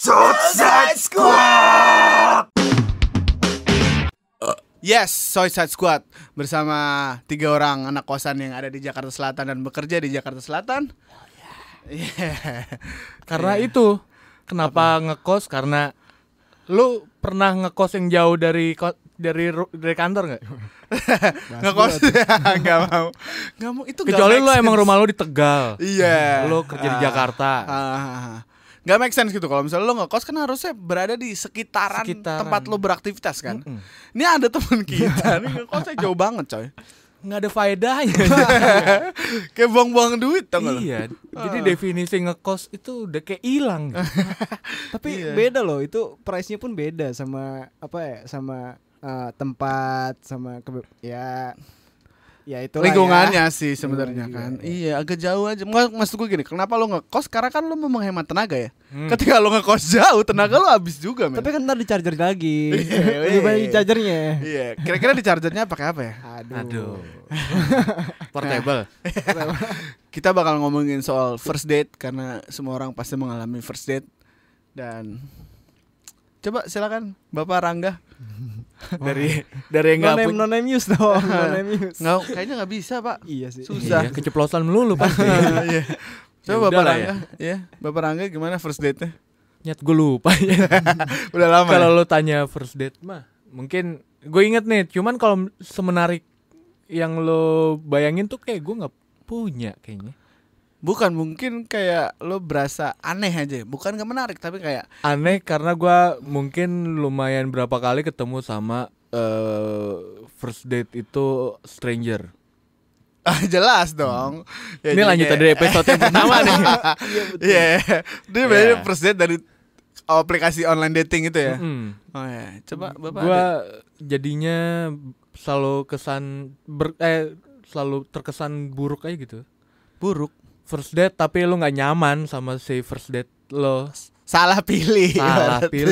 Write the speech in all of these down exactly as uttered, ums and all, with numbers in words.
Suicide Squad. Yes, Suicide Squad bersama tiga orang anak kosan yang ada di Jakarta Selatan dan bekerja di Jakarta Selatan. Yeah. Karena yeah. itu kenapa Apa? ngekos karena lu pernah ngekos yang jauh dari dari dari kantor nggak? Ngekos nggak mau, nggak mau itu. Kecuali lu emang rumah lu di Tegal. Iya. Yeah. Lu kerja di Jakarta. Uh, Gak make sense gitu. Kalau misalnya lo ngekos kan harusnya berada di sekitaran, sekitaran. tempat lo beraktivitas kan. Mm-mm. Ini ada teman kita nih ngekosnya jauh banget coy. Nggak ada faedahnya. Kayak buang-buang duit tau gak lo? Iya. Jadi definisi ngekos itu udah kayak hilang. Tapi iya. beda loh. Itu price-nya pun beda sama apa ya? Sama uh, tempat, sama kebe- ya. Ya itu lingkungannya ya. sih oh, sebenarnya kan. Iya. Iya, agak jauh aja. Maksud gue gini, kenapa lo ngekos? Karena kan lo mau menghemat tenaga ya. Hmm. Ketika lo ngekos jauh, tenaga lo habis juga, men. Tapi kan ntar di charger lagi. Lebih banyak di chargernya. Iya, kira-kira di chargernya pakai apa ya? Aduh. Aduh. Portable. Kita bakal ngomongin soal first date karena semua orang pasti mengalami first date. Dan coba silakan Bapak Rangga. dari dari enggak no no name use dong. No name use. Enggak, kayaknya enggak bisa, Pak. Iya sih. Susah. Iya, keceplosan melulu pasti. Iya. Coba Bapak Rangga, ya. Bapak Rangga gimana first date-nya? Nyat gue lupa ya. Udah lama. Kalau ya? lo tanya first date mah, mungkin gue inget nih. Cuman kalau semenarik yang lo bayangin tuh kayak gue nggak punya kayaknya. Bukan, mungkin kayak lo berasa aneh aja. Bukan gak menarik, tapi kayak aneh karena gue mungkin lumayan berapa kali ketemu sama uh, first date itu stranger. Ah, jelas dong. Hmm. Ya, ini lanjut dari episode yang pertama nih. Iya, yeah, dia yeah. Banyak first date dari aplikasi online dating itu ya. Mm-hmm. Oh ya, coba Bapak. Gue jadinya selalu kesan ber, eh selalu terkesan buruk aja gitu. Buruk. First date tapi lu nggak nyaman sama si first date lo. Salah pilih. Salah pilih.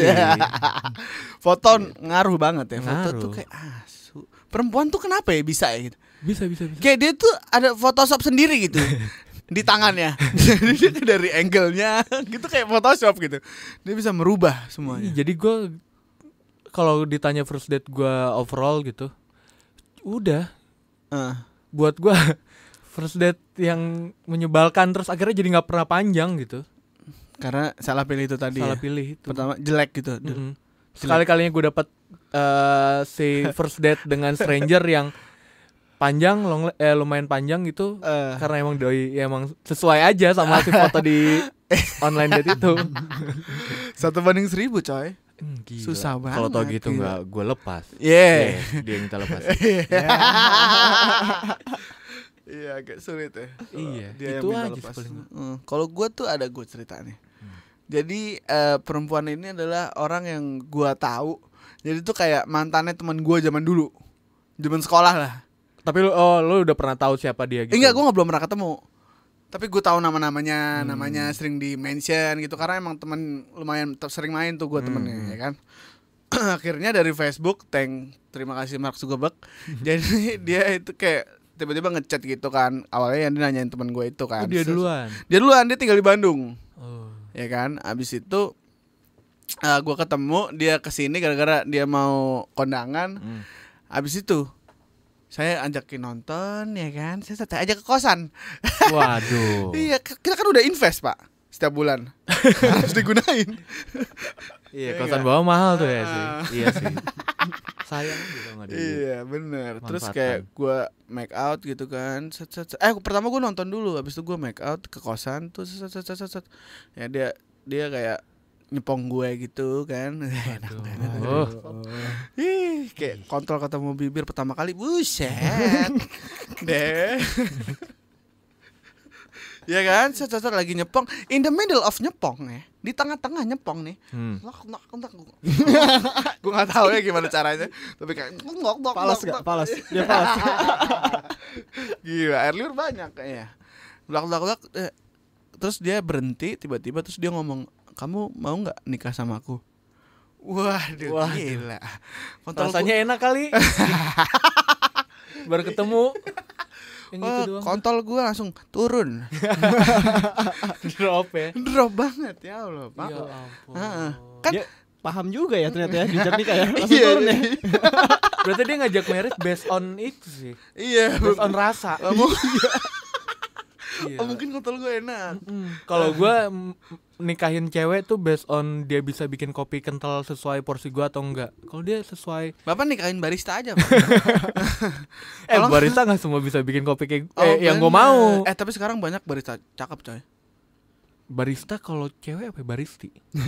Foto ngaruh banget ya. Foto ngaruh. tuh kayak asu. Perempuan tuh kenapa ya bisa ya gitu? Bisa bisa bisa. Kayak dia tuh ada Photoshop sendiri gitu di tangannya. Jadi dia dari angle-nya gitu kayak Photoshop gitu. Dia bisa merubah semuanya. Jadi gue kalau ditanya first date gue overall gitu, udah. Uh. Buat gue first date yang menyebalkan terus akhirnya jadi nggak pernah panjang gitu. Karena salah pilih itu tadi. Salah ya? pilih itu. Pertama jelek gitu. Mm-hmm. Sekali-kalinya gue dapat uh, si first date dengan stranger yang panjang, long, eh, lumayan panjang gitu. Uh. Karena emang doi ya emang sesuai aja sama si foto di online date itu. Satu banding seribu coy. Hmm, susah banget. Kalau tau gitu nggak gue lepas. Yeah. yeah. Dia minta lepas. Iya agak sulit ya. Iya. Dia itu yang aja hmm. Kalau gue tuh ada gue cerita nih. Hmm. Jadi uh, perempuan ini adalah orang yang gue tahu. Jadi tuh kayak mantannya teman gue zaman dulu, zaman sekolah lah. Tapi lu, oh lu udah pernah tahu siapa dia gitu? Enggak, gue nggak belum pernah ketemu. Tapi gue tahu nama-namanya, hmm. namanya sering di mention gitu karena emang teman lumayan sering main tuh gue hmm. temennya, ya kan. Akhirnya dari Facebook, thank terima kasih Mark Zuckerberg. Jadi dia itu kayak tiba-tiba ngechat gitu kan. Awalnya yang dia nanyain teman gue itu kan. Oh, dia duluan. Dia duluan, dia tinggal di Bandung. Oh. Ya kan? Abis itu uh, gue ketemu, dia kesini gara-gara dia mau kondangan. Hmm. Abis itu saya ajakin nonton, ya kan? Saya ajak ke kosan. Waduh. Iya, kita kan udah invest, Pak. Setiap bulan. Harus digunain. Iya, kosan bawah mahal tuh ya sih. Iya sih. Sayang gitu nggak ada. Iya benar. Terus kayak gue make out gitu kan. Set, set, set. Eh pertama gue nonton dulu, habis itu gue make out ke kosan tuh. Set, set, set, set, set. Ya dia dia kayak nyepong gue gitu kan. Enak banget. Oh. Ih, kayak kontrol ketemu bibir pertama kali. Buset. Deh. Ya kan, set-set lagi nyepong, in the middle of nyepong ya, di tengah-tengah nyepong nih, hmm. gue nggak tahu ya gimana caranya, tapi kayak ngok ngok palas nggak, palas, dia palas, gila air liur banyak kayaknya, blak blak blak, eh. Terus dia berhenti, tiba-tiba terus dia ngomong, kamu mau nggak nikah sama aku? Waduh, Wah, gila, rasanya enak kali, baru ketemu. Yang Wah, gitu doang. kontol gue langsung turun. Drop ya. Drop banget ya Allah, Pak. Ya ampun. Heeh. Kan Dia paham juga ya ternyata ya Richard nih kayak langsung Iya, turun ya. Berarti dia ngajak merit based on itu sih. Iya, Based on rasa. Oh, mu- Iya. oh, mungkin kontol gue enak. Mm. Kalau gue nikahin cewek tuh based on dia bisa bikin kopi kental sesuai porsi gue atau enggak. Kalau dia sesuai, Bapak nikahin barista aja, Pak. eh Kalau- barista nggak semua bisa bikin kopi kayak Oh, eh, yang gue bener. mau. Eh, tapi sekarang banyak barista cakep, coy. Barista kalau cewek apa ya? Baristi?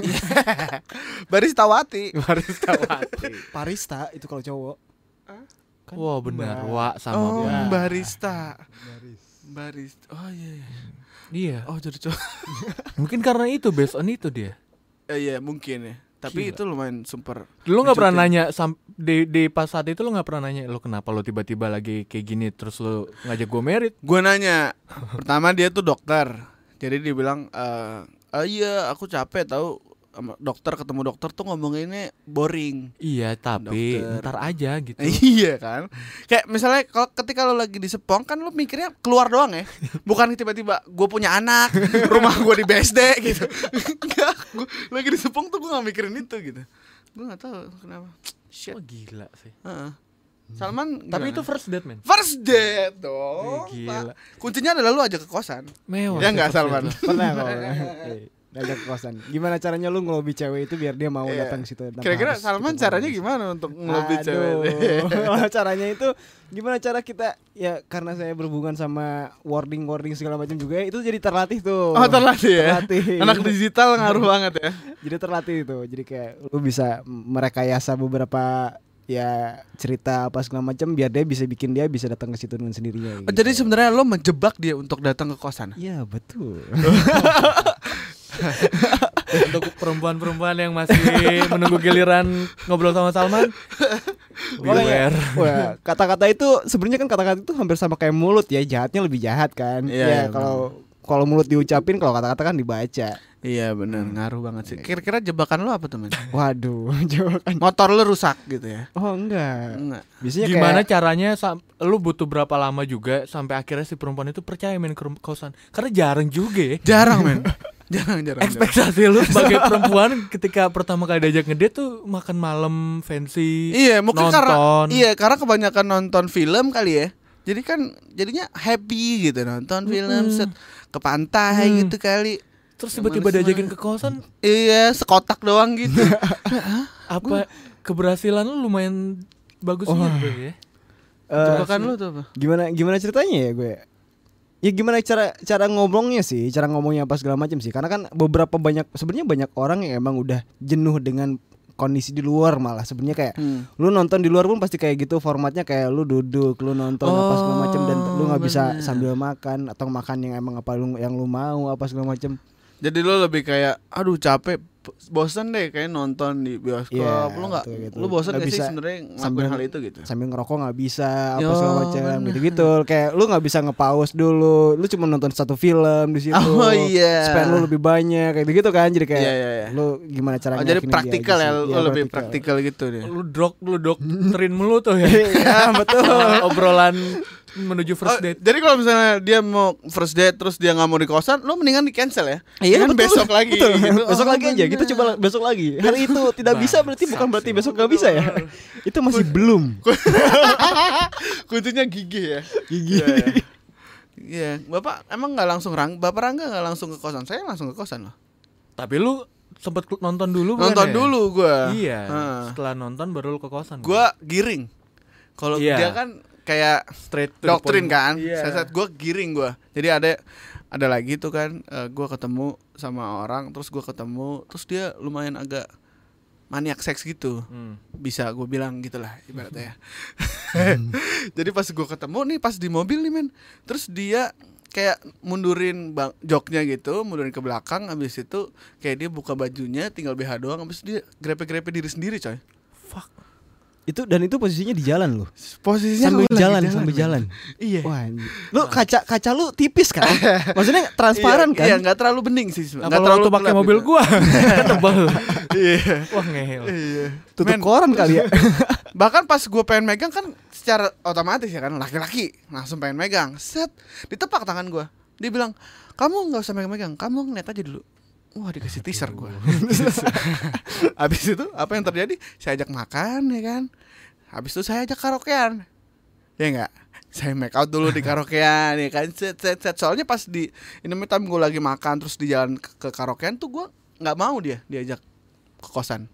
Barista Wati. Barista wati. Parista itu kalau cowok. Kan Wah benar, Mbak. wa sama Oh, Mbak. barista. Barista. Oh iya. iya. Iya. Oh, jadi cowok. Mungkin karena itu based on itu dia. Eh, iya, mungkin ya. Tapi Gila. itu lumayan super. Lu nggak pernah Mencutin. nanya sam- di di pas saat itu lu nggak pernah nanya lu kenapa lu tiba-tiba lagi kayak gini terus lu ngajak gue merit? Gue nanya. Pertama dia tuh dokter. Jadi dia bilang, eh "Ah, iya, aku capek tahu sama dokter, ketemu dokter tuh ngomonginnya boring." Iya tapi Dokter. ntar aja gitu. Iya kan. Kayak misalnya kalau ketika lo lagi di Sepong kan lo mikirnya keluar doang ya. Bukan tiba-tiba gue punya anak, rumah gue di B S D gitu. Enggak, gue lagi di Sepong tuh gue gak mikirin itu gitu. Gue gak tahu kenapa. Shit. Oh gila sih. Heeh. Salman Tapi itu gimana? first date men. First date dong. Eh, gila. Pak. Kuncinya adalah lu ajak ke kosan. Mewah. Ya sih enggak first Salman. date lu. Pernah kok. Eh, Ngajak ke kosan. Gimana caranya lu ngelobi cewek itu biar dia mau Iya. datang ke situ? tanpa Kira-kira harus Salman ketemu caranya sama gimana untuk ngelobi Aduh. cewek? Caranya itu gimana cara kita ya karena saya berhubungan sama wording-wording segala macam juga itu jadi terlatih tuh. Oh, terlatih ya. Terlatih. Anak digital ngaruh banget ya. Jadi terlatih itu. Jadi kayak lu bisa merekayasa beberapa ya cerita apa segala macam biar dia bisa bikin dia bisa datang ke situ dengan sendirinya. Oh, jadi sebenarnya lo menjebak dia untuk datang ke kosan. Iya betul. Untuk perempuan-perempuan yang masih menunggu giliran ngobrol sama Salman, beware. Wah, kata-kata itu sebenarnya kan kata-kata itu hampir sama kayak mulut ya, jahatnya lebih jahat kan. Iya, ya iya, kalau kalau mulut diucapin, kalau kata-kata kan dibaca. Iya benar, ngaruh banget sih. Kira-kira jebakan lo apa tuh, men? Waduh, jawaban. Motor lo rusak gitu ya? Oh enggak. Enggak. Biasanya Gimana kayak caranya sam- lu butuh berapa lama juga sampai akhirnya si perempuan itu percaya main ke rum- kosan? Karena jarang juga ya. Jarang, men. Jarang, jarang. jarang. Ekspektasi lu sebagai perempuan ketika pertama kali diajak ngedate tuh makan malam fancy, Iya, mungkin nonton. karena iya, karena kebanyakan nonton film kali ya. Jadi kan jadinya happy gitu nonton film set ke pantai Hmm. gitu kali. Terus tiba-tiba diajakin ke kosan, Iya, sekotak doang gitu. apa keberhasilan lu lumayan bagus Oh. gitu ya. eh, Jebakan lo tuh apa? gimana gimana ceritanya ya gue? Ya gimana cara cara ngomongnya sih, cara ngomongnya apa segala macam sih. Karena kan beberapa banyak sebenarnya banyak orang yang emang udah jenuh dengan kondisi di luar malah sebenarnya kayak Hmm. lu nonton di luar pun pasti kayak gitu formatnya kayak lu duduk, lu nonton apa segala macam dan lu nggak bisa bener. sambil makan atau makan yang emang apa lu yang lu mau apa segala macam. Jadi lo lebih kayak aduh capek, bosan deh kayak nonton di bioskop. Iya, Lu nggak betul gitu. lu bosan Nggak gak sih bisa sebenarnya ngelakuin sambil- hal itu gitu? Sambil ngerokok nggak bisa apa Yo, segala macam bener. gitu-gitu. Kayak lu nggak bisa nge-pause dulu. Lu cuma nonton satu film di situ. Oh iya. Spend lu lebih banyak kayak gitu kan. Jadi kayak Iya, iya, iya. lu gimana caranya Oh, jadi yakinin dia praktikal aja ya, sih. lu Iya, lebih praktikal gitu deh. Lu dok lu doktrin mulu tuh ya. Iya, betul. Obrolan menuju Oh, first date. jadi kalau misalnya dia mau first date terus dia nggak mau di kosan, lo mendingan di cancel ya? Iya, Mendingan betul. besok lagi. Betul. gitu. Besok Oh, lagi aja. Kita bener. coba besok lagi. Hari itu tidak bisa berarti bukan berarti besok nggak bisa ya. Itu masih belum. Kuncinya gigi ya. Gigi. Iya, iya. Iya, bapak emang nggak langsung rang, bapak Rangga nggak langsung ke kosan, saya langsung ke kosan loh. Tapi lu sempet kl- nonton dulu bukan Nonton ya? dulu gua. Iya. Heeh. Setelah nonton baru lu ke kosan. Gua giring. Kalau Iya. dia kan kayak straight to the doktrin point. kan, Iya. saya saat gue giring gue, jadi ada ada lagi tuh kan, uh, gue ketemu sama orang, terus gue ketemu, terus dia lumayan agak maniak seks gitu, Hmm. bisa gue bilang gitulah ibaratnya ya. Jadi pas gue ketemu nih pas di mobil nih men, terus dia kayak mundurin bang joknya gitu, mundurin ke belakang, habis itu kayak dia buka bajunya, tinggal B H doang, habis dia grepe-grepe diri sendiri coy. Fuck. Itu dan itu posisinya di jalan loh. Posisinya Sambil lu lagi jalan, sambil men. jalan. Iya. Wah, anjir. Lu kaca kaca lu tipis kan? Maksudnya transparan Iya, kan? Iya, nggak terlalu bening sih. Nah, Nggak kalau terlalu waktu pakai gelap mobil gitu. gua kan tebal. Iya. Wah ngehel. Iya. Tutup Men, koran kali ya. bahkan pas gue pengen megang kan secara otomatis ya kan laki-laki langsung pengen megang. Set, ditepak tangan gue. Dia bilang, kamu nggak usah megang-megang, kamu ngeliat aja dulu. Wah, dikasih teaser gue. Habis itu apa yang terjadi? Saya ajak makan ya kan. Habis itu saya ajak karaokean. Ya enggak? Saya make out dulu di karaokean ya kan. Set, set, set. Soalnya pas di ini time gue lagi makan terus di jalan ke, ke karaokean tuh gue nggak mau dia diajak ke kosan.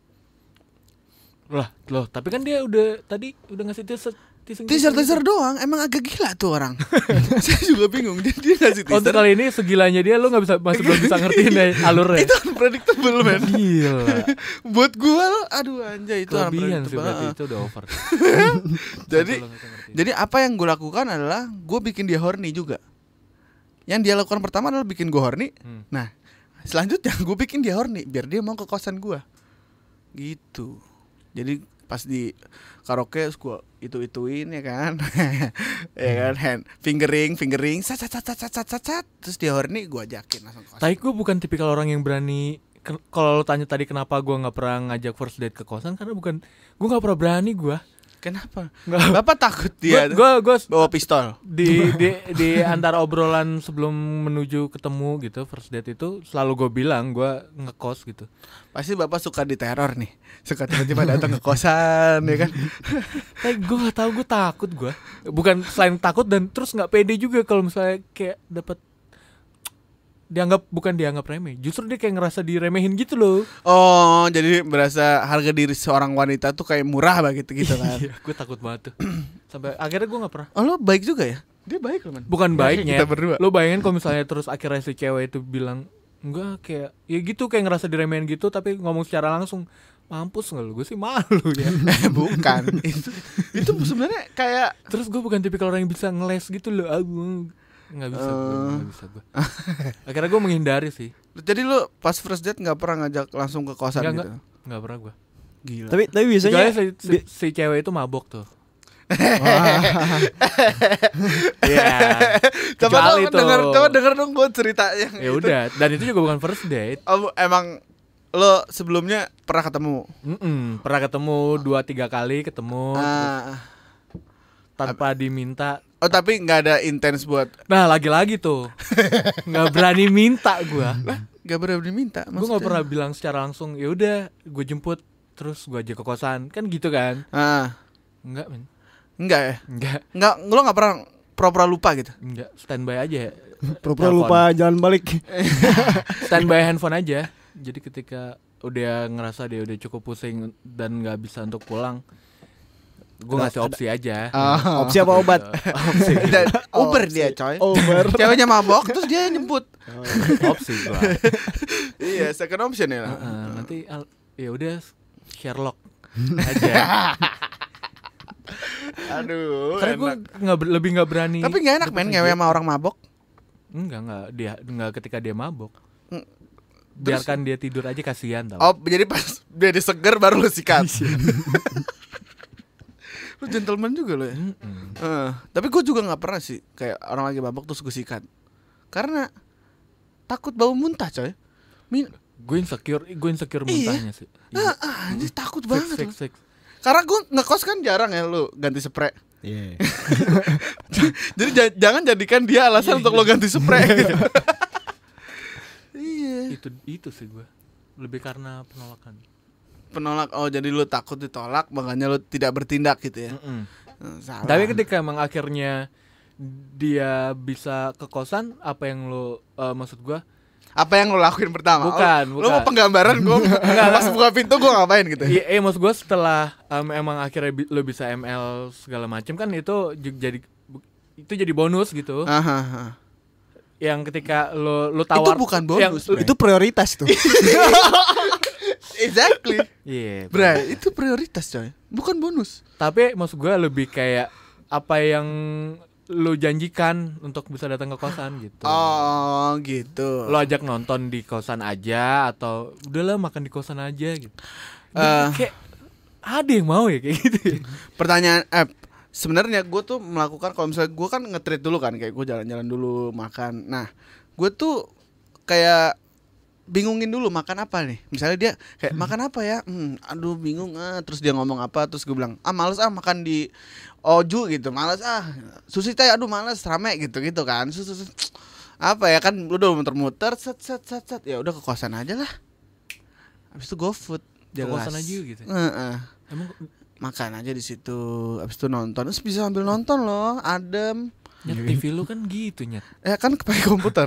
Lah, loh, tapi kan dia udah tadi udah ngasih teaser teaser teaser, teaser doang. Emang agak gila tuh orang. Saya juga bingung. Dia, dia ngasih teaser. Untuk kali ini segilanya dia lo nggak bisa masih belum bisa ngertiin deh alurnya. Itu unpredictable man. Gila. Buat gua lo, aduh anjay itu kelebihan sih unpredictable. berarti itu udah over. Jadi jadi apa yang gue lakukan adalah gue bikin dia horny juga. Yang dia lakukan pertama adalah bikin gue horny. Hmm. Nah, selanjutnya gue bikin dia horny biar dia mau ke kosan gue. Gitu. Jadi pas di karaoke gue itu-ituin ya kan. Ya kan, hand fingering, fingering, sat sat sat sat sat sat, terus dia horny gue ajakin langsung ke kosan. Tapi gue bukan tipikal orang yang berani. Kalau lo tanya tadi kenapa gue nggak pernah ngajak first date ke kosan, karena bukan gue nggak pernah berani gue. Kenapa? Nggak. Bapak takut dia gue gue bawa pistol di di di antara obrolan sebelum menuju ketemu gitu first date itu selalu gue bilang gue ngekos gitu. Pasti bapak suka diteror nih, suka tiba-tiba datang ke kosan ya kan. Tapi gue nggak tahu, gue takut gue. Bukan selain takut dan terus nggak pede juga kalau misalnya kayak dapat dianggap bukan dianggap remeh, justru dia kayak ngerasa diremehin gitu loh. Oh, jadi berasa harga diri seorang wanita tuh kayak murah begitu gitu kan. Iya, gue takut banget tuh. Sampai akhirnya gue nggak pernah. Oh, lo baik juga ya? Dia baik loh man. Bukan baiknya. Kita berdua. Lo bayangin kalau misalnya terus akhirnya si cewek itu bilang enggak, kayak ya gitu, kayak ngerasa diremehin gitu tapi ngomong secara langsung, mampus nggak lu? Gue sih malu ya. Bukan. itu itu sebenarnya kayak, terus gue bukan tipikal orang yang bisa ngeles gitu loh. Aku nggak bisa, uh... gue nggak bisa gue. Akhirnya gue menghindari sih. Jadi lu pas first date nggak pernah ngajak langsung ke kosan nggak, gitu? Nggak, nggak pernah gue. Gila. Tapi tapi biasanya si, si, bi- si cewek itu mabok tuh. Iya. Coba dong denger, coba denger dong gue cerita yang ya udah, dan itu juga bukan first date. Oh, emang lo sebelumnya pernah ketemu? Mm-mm, pernah ketemu dua tiga kali ketemu Uh, tanpa diminta. oh tapi nggak ada intens buat. Nah lagi-lagi tuh nggak berani minta gue. Lah nggak berani minta. Gue nggak pernah bilang secara langsung. Ya udah, gue jemput terus gue aja ke kosan kan gitu kan? Ah. Enggak men. Enggak ya? Enggak. Enggak, lo nggak pernah pura-pura lupa gitu? Enggak, standby aja. pura-pura lupa jalan balik. Standby handphone aja. Jadi ketika udah ngerasa dia udah cukup pusing dan nggak bisa untuk pulang, gue ngasih opsi aja. Oh. Opsi apa obat? Opsi. Dan Uber dia coy. Uber. Ceweknya mabok terus dia nyebut. Opsi gua. Iya, second option ya lah. Uh, nanti al- ya udah Sherlock aja. Aduh. Karena gue nggak ber- lebih nggak berani. Tapi nggak enak men ngewe sama orang mabok. Enggak enggak dia enggak ketika dia mabok. Hmm. Biarkan dia tidur aja, kasihan tau. Oh, jadi pas dia diseger baru lu sikat. Lu gentleman juga lo ya. Uh, tapi gue juga nggak pernah sih kayak orang lagi mabok terus gue sikat. Karena takut bau muntah coy. Min- gue insecure, gue insecure muntahnya sih. Ah, ah, anjir, takut Fix, banget. fix, loh. fix. Karena gue ngekos kan jarang ya lu ganti spray. Iya. Jadi j- jangan jadikan dia alasan untuk lo ganti spray gitu. Iya. Itu itu sih gue. Lebih karena penolakan. Penolak. Oh, jadi lu takut ditolak makanya lu tidak bertindak gitu ya. Mm-mm. Salah. Tapi ketika emang akhirnya dia bisa ke kosan, apa yang lo uh, maksud gue? Apa yang lo lakuin pertama? Bukan, oh, bukan. Lo mau penggambaran gue pas buka pintu gue ngapain gitu? Iya, eh, maksud gue setelah um, emang akhirnya bi- lo bisa M L segala macam kan itu j- jadi itu jadi bonus gitu. Aha, aha. Yang ketika lo lo tawar Itu bukan bonus, yang, Bray. Itu prioritas tuh. Exactly. Iya. Yeah, Bray, itu prioritas coy, bukan bonus. tapi maksud gue lebih kayak apa yang lo janjikan untuk bisa datang ke kosan gitu. Oh gitu. Lo ajak nonton di kosan aja atau udahlah makan di kosan aja gitu. Uh, kayak ada yang mau ya kayak gitu. Pertanyaan eh sebenarnya gue tuh melakukan kalau misalnya gue kan nge-treat dulu kan, kayak gue jalan-jalan dulu makan. Nah gue tuh kayak bingungin dulu makan apa nih. Misalnya dia kayak makan apa ya? Hmm, aduh bingung ah. Terus dia ngomong apa? Terus gue bilang, ah males ah makan di Oju gitu, males ah. Sushi teh, aduh males rame gitu gitu kan. Sus, sus, sus. Apa ya kan udah muter-muter, set set set set. Ya udah ke kosan aja lah. Habis itu GoFood. Ke kosan aja gitu. Uh-uh. Emang makan aja di situ. Habis itu nonton. Terus bisa sambil nonton loh, adem. Nyet T V lu kan gitu nyet. Eh kan pakai komputer.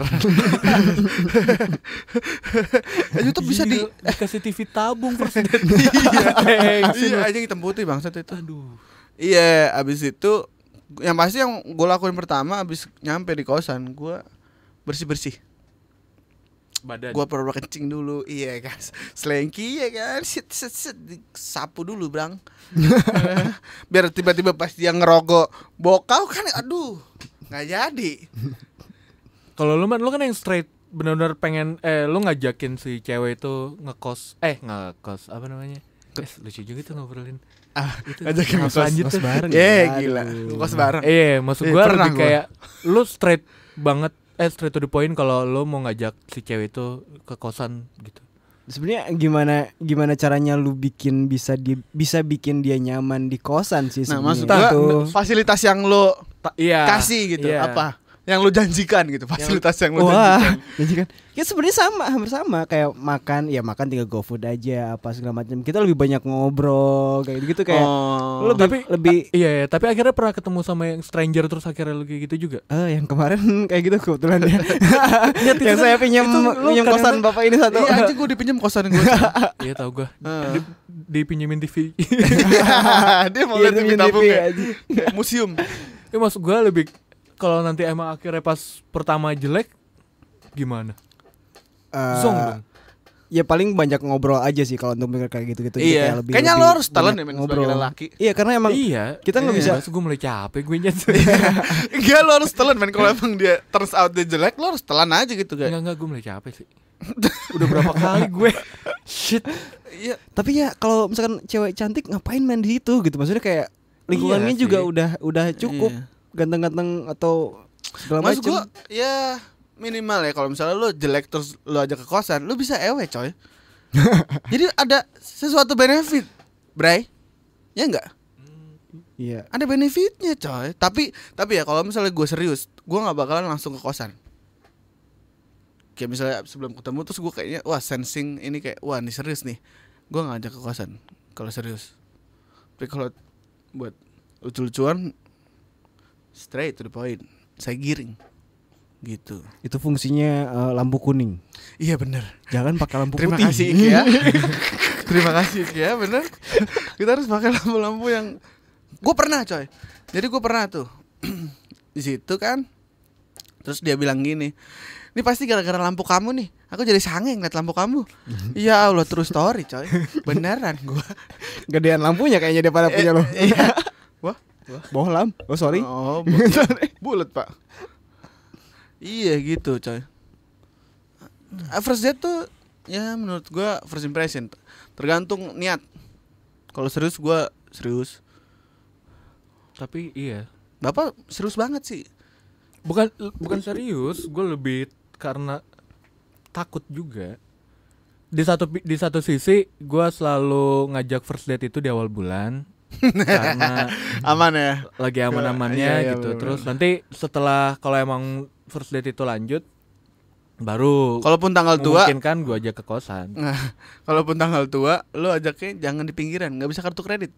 eh, YouTube bisa di dikasih T V tabung first date. Iya. Iya aja hitam putih bangsat itu. Aduh. Iya, abis itu yang pasti yang gue lakuin pertama abis nyampe di kosan, gue bersih-bersih. Badan. Gue perlu kencing dulu. Iya kan. Slanky ya kan. Sit sit sit sapu dulu, Bang. Biar tiba-tiba pas dia ngerogok bokau kan aduh. Nggak jadi. Kalau lu man, lu kan yang straight benar-benar pengen eh lu ngajakin si cewek itu ngekos eh ngekos apa namanya? Eh, lucu juga tuh ngobrolin. Ah, itu ngajakin ngekos lanjut bareng. Eh, gila. Ngekos bareng. Eh, maksud Eh, gua pernah lebih gua. kayak lu straight banget eh straight to the point kalau lu mau ngajak si cewek itu ke kosan gitu. Sebenarnya gimana gimana caranya lu bikin bisa di bisa bikin dia nyaman di kosan sih Nah, sebenarnya. maksud gua Itu. fasilitas yang lo Ta- iya. kasih gitu Iya. apa? Yang lo janjikan gitu, fasilitas yang, lo Wah, janjikan. jadi kan ya sebenarnya sama, hampir sama kayak makan, ya makan tinggal GoFood aja apa segala macam. Kita lebih banyak ngobrol kayak gitu kayak Oh. lu lebih Tapi lebih a- iya, iya, tapi akhirnya pernah ketemu sama yang stranger terus akhirnya lu kayak gitu juga. eh yang kemarin kayak gitu kebetulan ya. Lihat, itu yang kan- saya pinjam itu lu pinjam kosan kadang-kadang- bapak ini satu. Iya aja gue dipinjam kosan gue. Iya tahu gua. Heeh. Di, dipinjemin T V. Dia mau Iya, lihat T V demi tabung T V ya. aja. Kayak museum. Ya maksud gua lebih kalau nanti emang akhirnya pas pertama jelek gimana? Eh, Zong dong. Ya paling banyak ngobrol aja sih kalau untuk mikir kayak gitu-gitu. Jadi Iya. kayak lebih- Kayaknya lebih lo harus talent banyak ya men sebagai lelaki. Iya karena emang Iya, kita nggak iya. bisa- Gue mulai capek gue nyet. Enggak lo harus telan men kalau emang dia turns out dia jelek lo harus telan aja gitu kayak. Enggak enggak gue mulai capek sih. Udah berapa kali gue. Shit. Iya. Tapi ya kalau misalkan cewek cantik ngapain main di situ gitu. Maksudnya kayak lingkungannya Iya juga sih. udah udah cukup Iya. ganteng-ganteng atau segala Maksud macam. gua ya minimal ya kalau misalnya lo jelek terus lo aja ke kosan, lo bisa ewe coy. Jadi ada sesuatu benefit, Bray. Ya enggak? Iya. Ada benefitnya coy. Tapi tapi ya kalau misalnya gue serius, gue nggak bakalan langsung ke kosan. Kayak misalnya sebelum ketemu terus gue kayaknya wah sensing ini kayak wah ini serius nih. Gue nggak ajak ke kosan kalau serius. Tapi kalau buat lucu-lucuan straight to the point. Saya giring. Gitu. Itu fungsinya eh, lampu kuning. Iya bener. Jangan pakai lampu Terima putih. kasih Iki ya. Terima kasih Iki ya bener. Kita harus pakai lampu-lampu yang gue pernah coy. Jadi gue pernah tuh di situ kan. Terus dia bilang gini, ini pasti gara-gara lampu kamu nih. Aku jadi sange ngeliat lampu kamu. Ya Allah true story coy. Beneran gue. Gedean lampunya kayaknya daripada punya lo. Iya. Wah. Bohlam. Oh sorry. Oh bulat pak. Iya gitu coy. Uh, First date tuh ya menurut gue first impression. Tergantung niat. Kalau serius gue serius. Tapi iya. Bapak serius banget sih. Bukan bukan serius, gue lebih karena takut juga. Di satu pi- di satu sisi gue selalu ngajak first date itu di awal bulan. Karena Aman ya. lagi aman-amannya Iya, iya, gitu. bener-bener. Terus nanti setelah kalau emang first date itu lanjut baru Kalaupun tanggal tua, mungkin kan gue ajak ke kosan. nah, kalaupun tanggal tua, lo ajaknya jangan di pinggiran, nggak bisa kartu kredit.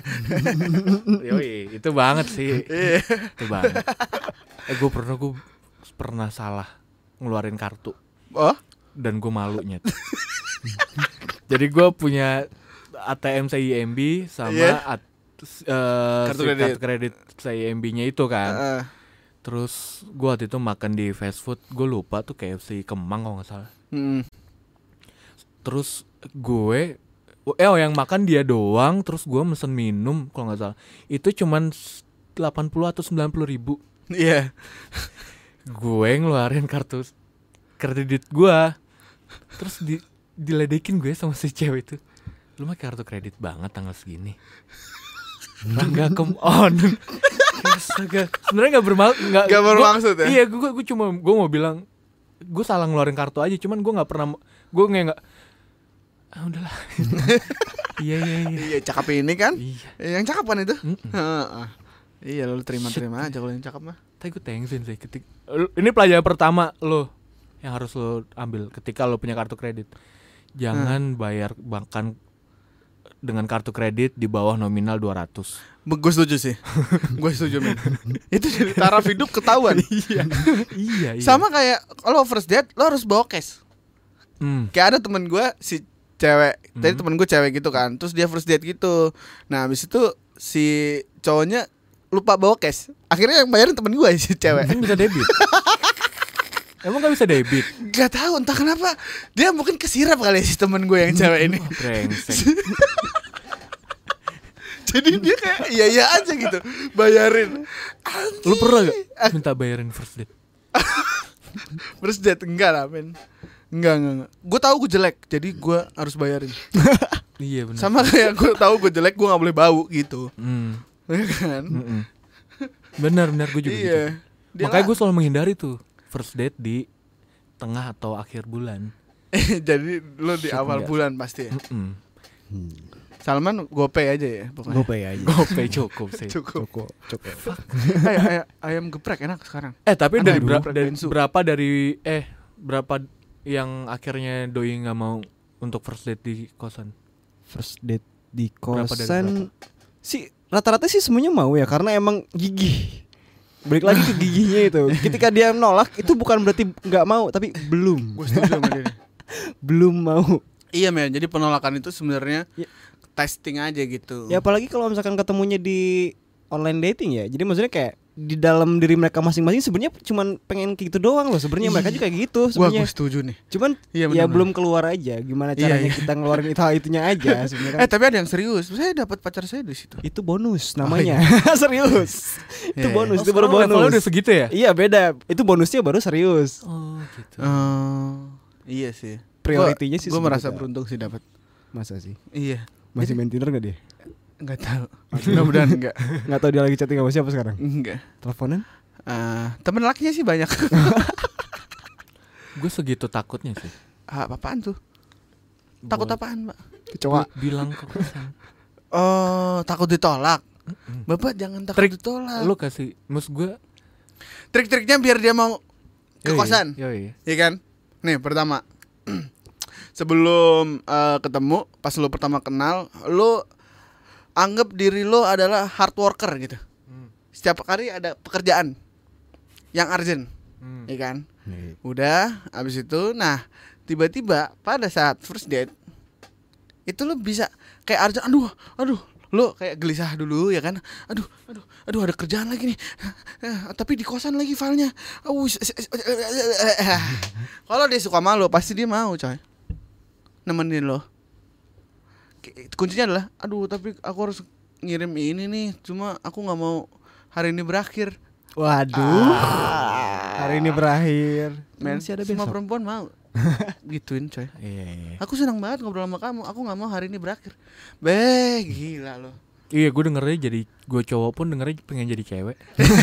Yoi, itu banget sih. Iya. Itu banget. Eh gue pernah gue pernah salah ngeluarin kartu Oh, dan gue malunya. Jadi gue punya A T M C I M B sama Iya. at- eh, Kartu si kredit. kartu kredit C I M B-nya itu kan. uh, Terus gue waktu itu makan di fast food, gue lupa tuh K F C Kemang kalau nggak salah. hmm. Terus gue, eh oh yang makan dia doang, terus gue mesen minum kalau nggak salah. Itu cuman delapan puluh atau sembilan puluh ribu. Iya. Gue ngeluarin kartu kredit gue, terus di diledekin gue sama si cewek itu. Lu mah kartu kredit banget tanggal segini. Enggak, come on. Astaga. Sebenarnya nggak bermaksud, nggak Nggak gua- bermaksud ya? Iya, gue gue cuma gue mau bilang gue salah ngeluarin kartu aja, cuman gue nggak pernah gue nggak nggak ah udahlah. Iya iya iya. Iya cakep ini kan? Iya. Yang cakep kan itu? Mm-mm. Iya lu terima-terima aja kalau yang cakep mah. Tapi gue thanksin sih ketik. Ini pelajaran pertama lo yang harus lo ambil ketika lo punya kartu kredit. Jangan hmm. bayar bahkan dengan kartu kredit di bawah nominal dua ratus. Gue setuju sih. Gue setuju men. Itu jadi taraf hidup ketahuan. Iya. Iya, iya. Sama kayak kalau first date lo harus bawa cash. Hmm. Kayak ada temen gue si cewek, hmm. tadi temen gue cewek gitu kan. Terus dia first date gitu. Nah habis itu si cowoknya lupa bawa cash. Akhirnya yang bayarin temen gue si cewek. Mungkin bisa debit. Emang gak bisa debit? Gak tahu entah kenapa. Dia mungkin kesirap kali si temen gue yang cewek ini. Brengsek. Jadi dia kayak iya-iya aja gitu bayarin. Anjir. Lu pernah gak minta bayarin first date? First date enggak lah men. Enggak enggak, enggak. Gue tahu gue jelek, jadi gue harus bayarin. Iya benar. Sama kayak gue tahu gue jelek, gue nggak boleh bau gitu. Hmm. Ya kan? Mm-mm. Benar benar gue juga iya. gitu. Makanya gue selalu menghindari tuh first date di tengah atau akhir bulan. Jadi lo di Shit, awal enggak. bulan pasti ya. Mm-mm. Salman GoPay aja ya pokoknya. GoPay aja. GoPay cukup sih. Cukup. Cukup, cukup. Ayam, ayam, ayam geprek enak sekarang. Eh tapi Ada dari, dulu, bera- geprek dari bensu. berapa dari eh berapa yang akhirnya doi nggak mau untuk first date di kosan? First date di Berapa dari kosan berapa? sih rata-rata sih semuanya mau ya karena emang gigih. Balik lagi ke gigihnya itu. Ketika dia nolak itu bukan berarti nggak mau tapi belum. Gue setuju sama dia. Belum mau. Iya men, jadi penolakan itu sebenarnya Ya. testing aja gitu. Ya apalagi kalau misalkan ketemunya di online dating ya. Jadi maksudnya kayak di dalam diri mereka masing-masing sebenarnya cuman pengen kayak gitu doang loh. Sebenarnya mereka juga kayak gitu Wah sebenarnya. gue setuju nih. Cuman Iya, ya bener-bener. belum keluar aja. Gimana Iya, caranya iya. kita ngeluarin itu hal itunya aja sebenarnya. Eh Kan. tapi ada yang serius. Saya dapat pacar saya di situ. Itu bonus namanya. Serius. Itu Iya, bonus, Oh, itu baru sekarang levelnya bonus. udah segitu ya? Iya beda. Itu bonusnya baru serius. Oh gitu. Oh, iya sih. Prioritinya sih Gue merasa segitu. beruntung sih dapat. Masa sih? Iya. Masih main Tinder gak dia? Enggak tahu. Mudah-mudahan enggak. Gak tahu dia lagi chatting sama siapa sekarang? Enggak. Teleponan? Uh, temen lakinya sih banyak. Gue segitu takutnya sih. Ah, apaan tuh? Takut Buat apaan, Mbak? Kecoa. bilang ke kosan. Oh, takut ditolak. Mm-mm. Bapak jangan takut Trik ditolak. Lu kasih, maksud gue Trik-triknya biar dia mau ke yoi, kosan. Yoi. Iya kan? Nih, pertama. Sebelum uh, ketemu, pas lu pertama kenal, lu anggap diri lu adalah hard worker gitu. Hmm. Setiap hari ada pekerjaan yang urgent, Hmm. ya kan? Udah, abis itu, nah tiba-tiba pada saat first date itu lu bisa kayak urgent, aduh, aduh, lu kayak gelisah dulu ya kan? Aduh, aduh, aduh ada kerjaan lagi nih, tapi di kosan lagi filenya. Kalau dia suka malu, pasti dia mau, coy, nemenin lo. Kuncinya adalah, aduh, tapi aku harus ngirim ini nih, cuma aku nggak mau hari ini berakhir. Waduh. Ah. Hari ini berakhir. Men, Masih ada semua besok. perempuan mau gituin, coy. Iya, iya. Aku senang banget ngobrol sama kamu. Aku nggak mau hari ini berakhir. Beh, gila lo. Iya, gue dengernya jadi gue cowok pun dengernya pengen jadi cewek.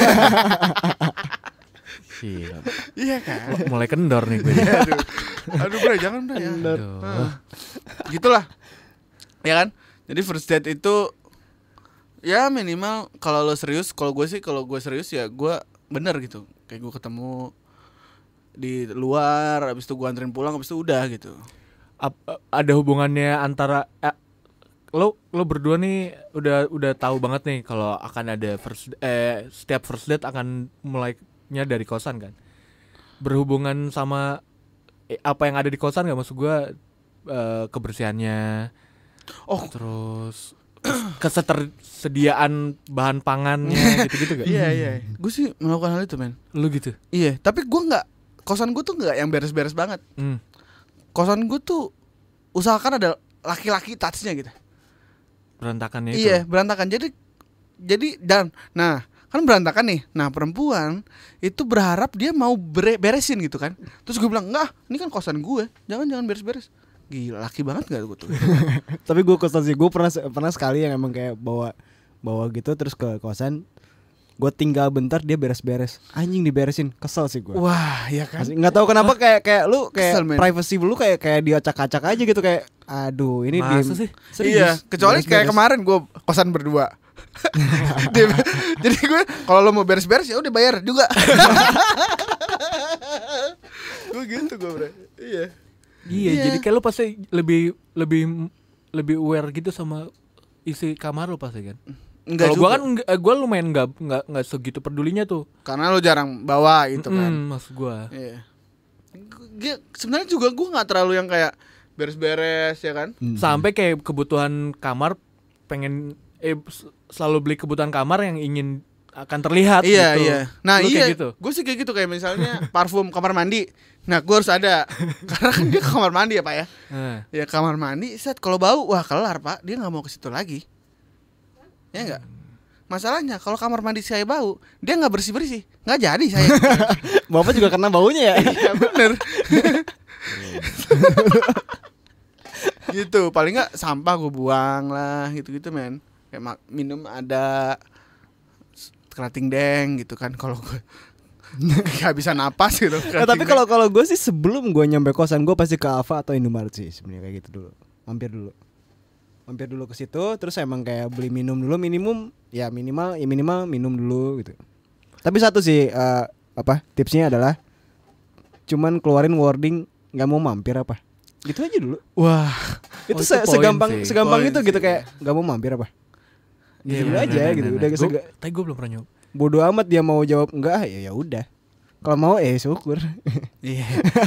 Iya. Iya kan? Mulai kendor nih gue. aduh, aduh bro, jangan bro ya. Kendor. Aduh. Gitulah, ya kan? Jadi first date itu ya minimal kalau lo serius. Kalau gue sih, kalau gue serius ya gue bener gitu. Kayak gue ketemu di luar, abis itu gue anterin pulang, abis itu udah gitu. Ap- ada hubungannya antara eh, lo lo berdua nih udah udah tahu banget nih kalau akan ada first eh setiap first date akan mulainya dari kosan kan, berhubungan sama eh, apa yang ada di kosan nggak, maksud gue eh, kebersihannya, Oh, terus ketersediaan bahan pangannya gitu-gitu gak? iya iya. Gue sih melakukan hal itu, men. Lu gitu. Iya, tapi gue nggak, kosan gue tuh nggak yang beres-beres banget. Hmm. Kosan gue tuh usahakan ada laki-laki touch-nya gitu. Berantakannya itu. Iya, berantakan. Jadi jadi dan nah, kan berantakan nih. Nah, perempuan itu berharap dia mau bere- beresin gitu kan. Terus gue bilang, "Enggak, ini kan kosan gue. Jangan jangan beres-beres." Gila, laki banget enggak gue tuh. Tapi gue kosan sih, gue pernah pernah sekali yang emang kayak bawa bawa gitu terus ke kosan. gue tinggal bentar dia beres-beres. Anjing diberesin, kesel sih gue. Wah, ya kan. Nggak tahu kenapa kayak kayak lu kayak Kesel, men. privacy lu kayak kayak diacak-acak aja gitu kayak. Aduh, ini dia. Masa sih? Iya, kecuali kayak kemarin gue kosan berdua. Dia, jadi gue kalau lo mau beres-beres ya udah bayar juga. Gue gitu gue bro. Iya. Iya, Iya. jadi kayak lu pasti lebih lebih lebih aware gitu sama isi kamar lu pasti kan. Enggak Kalau juga. gua kan enggak- gua lumayan enggak enggak enggak segitu pedulinya tuh. Karena lo jarang bawa gitu kan. Mm, maksud gua. Iya. Gue sebenarnya juga gue nggak terlalu yang kayak beres-beres ya kan. Hmm. Sampai kayak kebutuhan kamar pengen eh s- selalu beli kebutuhan kamar yang ingin akan terlihat Iya gitu. iya. Nah Lu iya. kayak gitu. Gue sih kayak gitu kayak misalnya parfum kamar mandi. Nah gue harus ada. Karena kan dia kamar mandi ya pak ya. Nah, Ya kamar mandi. Set kalau bau wah kelar pak. Dia nggak mau ke situ lagi. Ya enggak. Masalahnya kalau kamar mandi saya bau, dia nggak bersih bersih, nggak jadi saya. Bapak juga kena baunya ya. Iya bener. Gitu paling nggak sampah gue buang lah gitu gitu men. Kayak mak- minum ada kerating deng gitu kan kalau gue nggak bisa napas gitu. Nah, tapi kalau kalau gue sih sebelum gue nyampe kosan gue pasti ke Alfa atau Indomaret sih sebenarnya kayak gitu dulu. Mampir dulu. Mampir dulu ke situ terus emang kayak beli minum dulu minimum ya minimal ya minimal minum dulu gitu. Tapi satu sih eh, apa tipsnya adalah cuman keluarin wording nggak mau mampir apa. Gitu aja dulu. wah Itu, Oh, itu se- poin segampang sih. segampang Poin itu gitu sih. kayak nggak mau mampir apa. iya, Gitu bener, aja bener, gitu. bener. Udah Gua- sega- tapi gua belum pernah nyoba. bodo amat dia mau jawab enggak ya ya udah. Kalau mau eh syukur. iya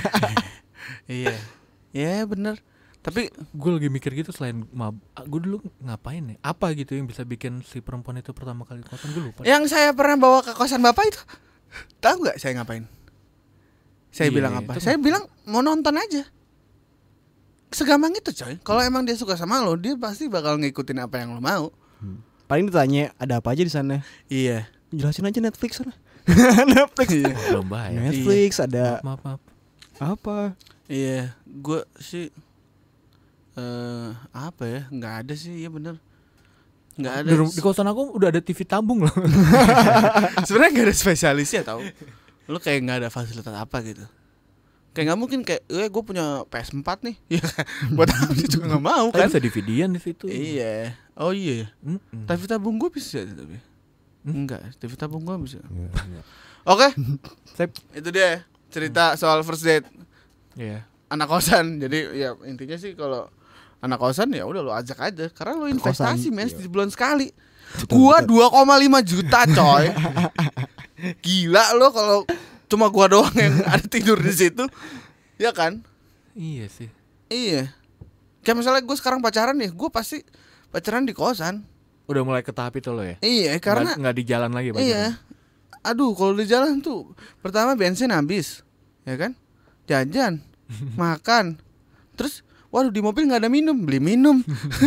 iya iya bener. Tapi Gue lagi mikir gitu selain mab, gue dulu ngapain ya? Apa gitu yang bisa bikin si perempuan itu pertama kali kosan gue lupa. yang saya pernah bawa ke kosan bapak itu, tahu nggak saya ngapain? Saya Iya, bilang apa? itu Saya bilang mau nonton aja. Segampang itu coy. Kalau emang dia suka sama lo, dia pasti bakal ngikutin apa yang lo mau. Paling ditanya ada apa aja di sana. Iya. Jelasin aja Netflix sana. Netflix. Oh, belum bayar. Netflix ada Maaf, maaf, maaf. apa? Iya, gue sih eh apa ya? Nggak ada sih, iya bener. Nggak ada. Di, ru- di kosan aku udah ada T V tabung loh. Sebenarnya nggak ada spesialisnya tau. Lo kayak nggak ada fasilitas apa gitu. Kayak nggak mungkin kayak, eh gue punya P S four nih. Ya buat apa sih juga nggak mau Kan kan? bisa D V D-an di situ. Iya. Oh iya. Mm-mm. T V tabung gue bisa tapi. Hmm? Enggak, T V tabung gue bisa. Oke, Sip. itu dia cerita soal first date Iya. anak kosan. Jadi ya intinya sih kalau anak kosan ya udah lo ajak aja karena lo investasi men iya. di bulan sekali. Betul, Gua betul. dua koma lima juta coy. Gila lo kalau cuma gua doang yang ada tidur di situ. Ya kan? Iya sih. Iya. Kayak misalnya gue sekarang pacaran nih, gue pasti pacaran di kosan. Udah mulai ke tahap itu lo ya. Iya, karena nggak, nggak di jalan lagi pacaran. iya. Aduh, kalau di jalan tuh pertama bensin habis, ya kan? Jajan, makan. Terus waduh di mobil nggak ada minum, beli minum.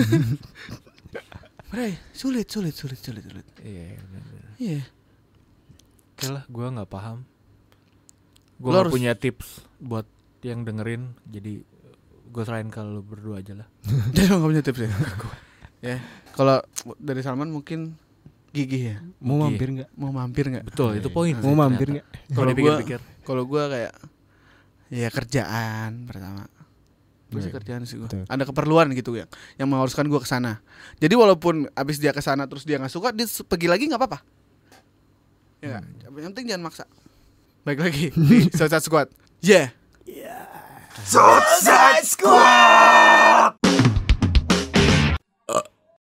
Bre, sulit, sulit, sulit, sulit, sulit. Iya. bener, bener. Iya. Oke lah, gue nggak paham. Gue Lo nggak harus- punya tips buat yang dengerin. Jadi gue serahin ke lo berdua aja lah. Jadi lo nggak punya tips ya? Ya, kalau dari Salman mungkin gigih ya. Mau Oke. mampir enggak? Mau mampir nggak? Betul, itu poin. Mau sih mampir ternyata. enggak? Kalau Kalau gua- dipikir-pikir. Kalau gue kayak ya kerjaan pertama. Gue sih Iya, kerjaan sih gue. betul. Ada keperluan gitu yang yang mengharuskan gue ke sana. Jadi walaupun abis dia ke sana terus dia nggak suka, dia s- pergi lagi nggak apa-apa. Ya, nggak? Yang penting jangan maksa. Baik lagi di Suicide Squad. Yeah. Suicide Squad.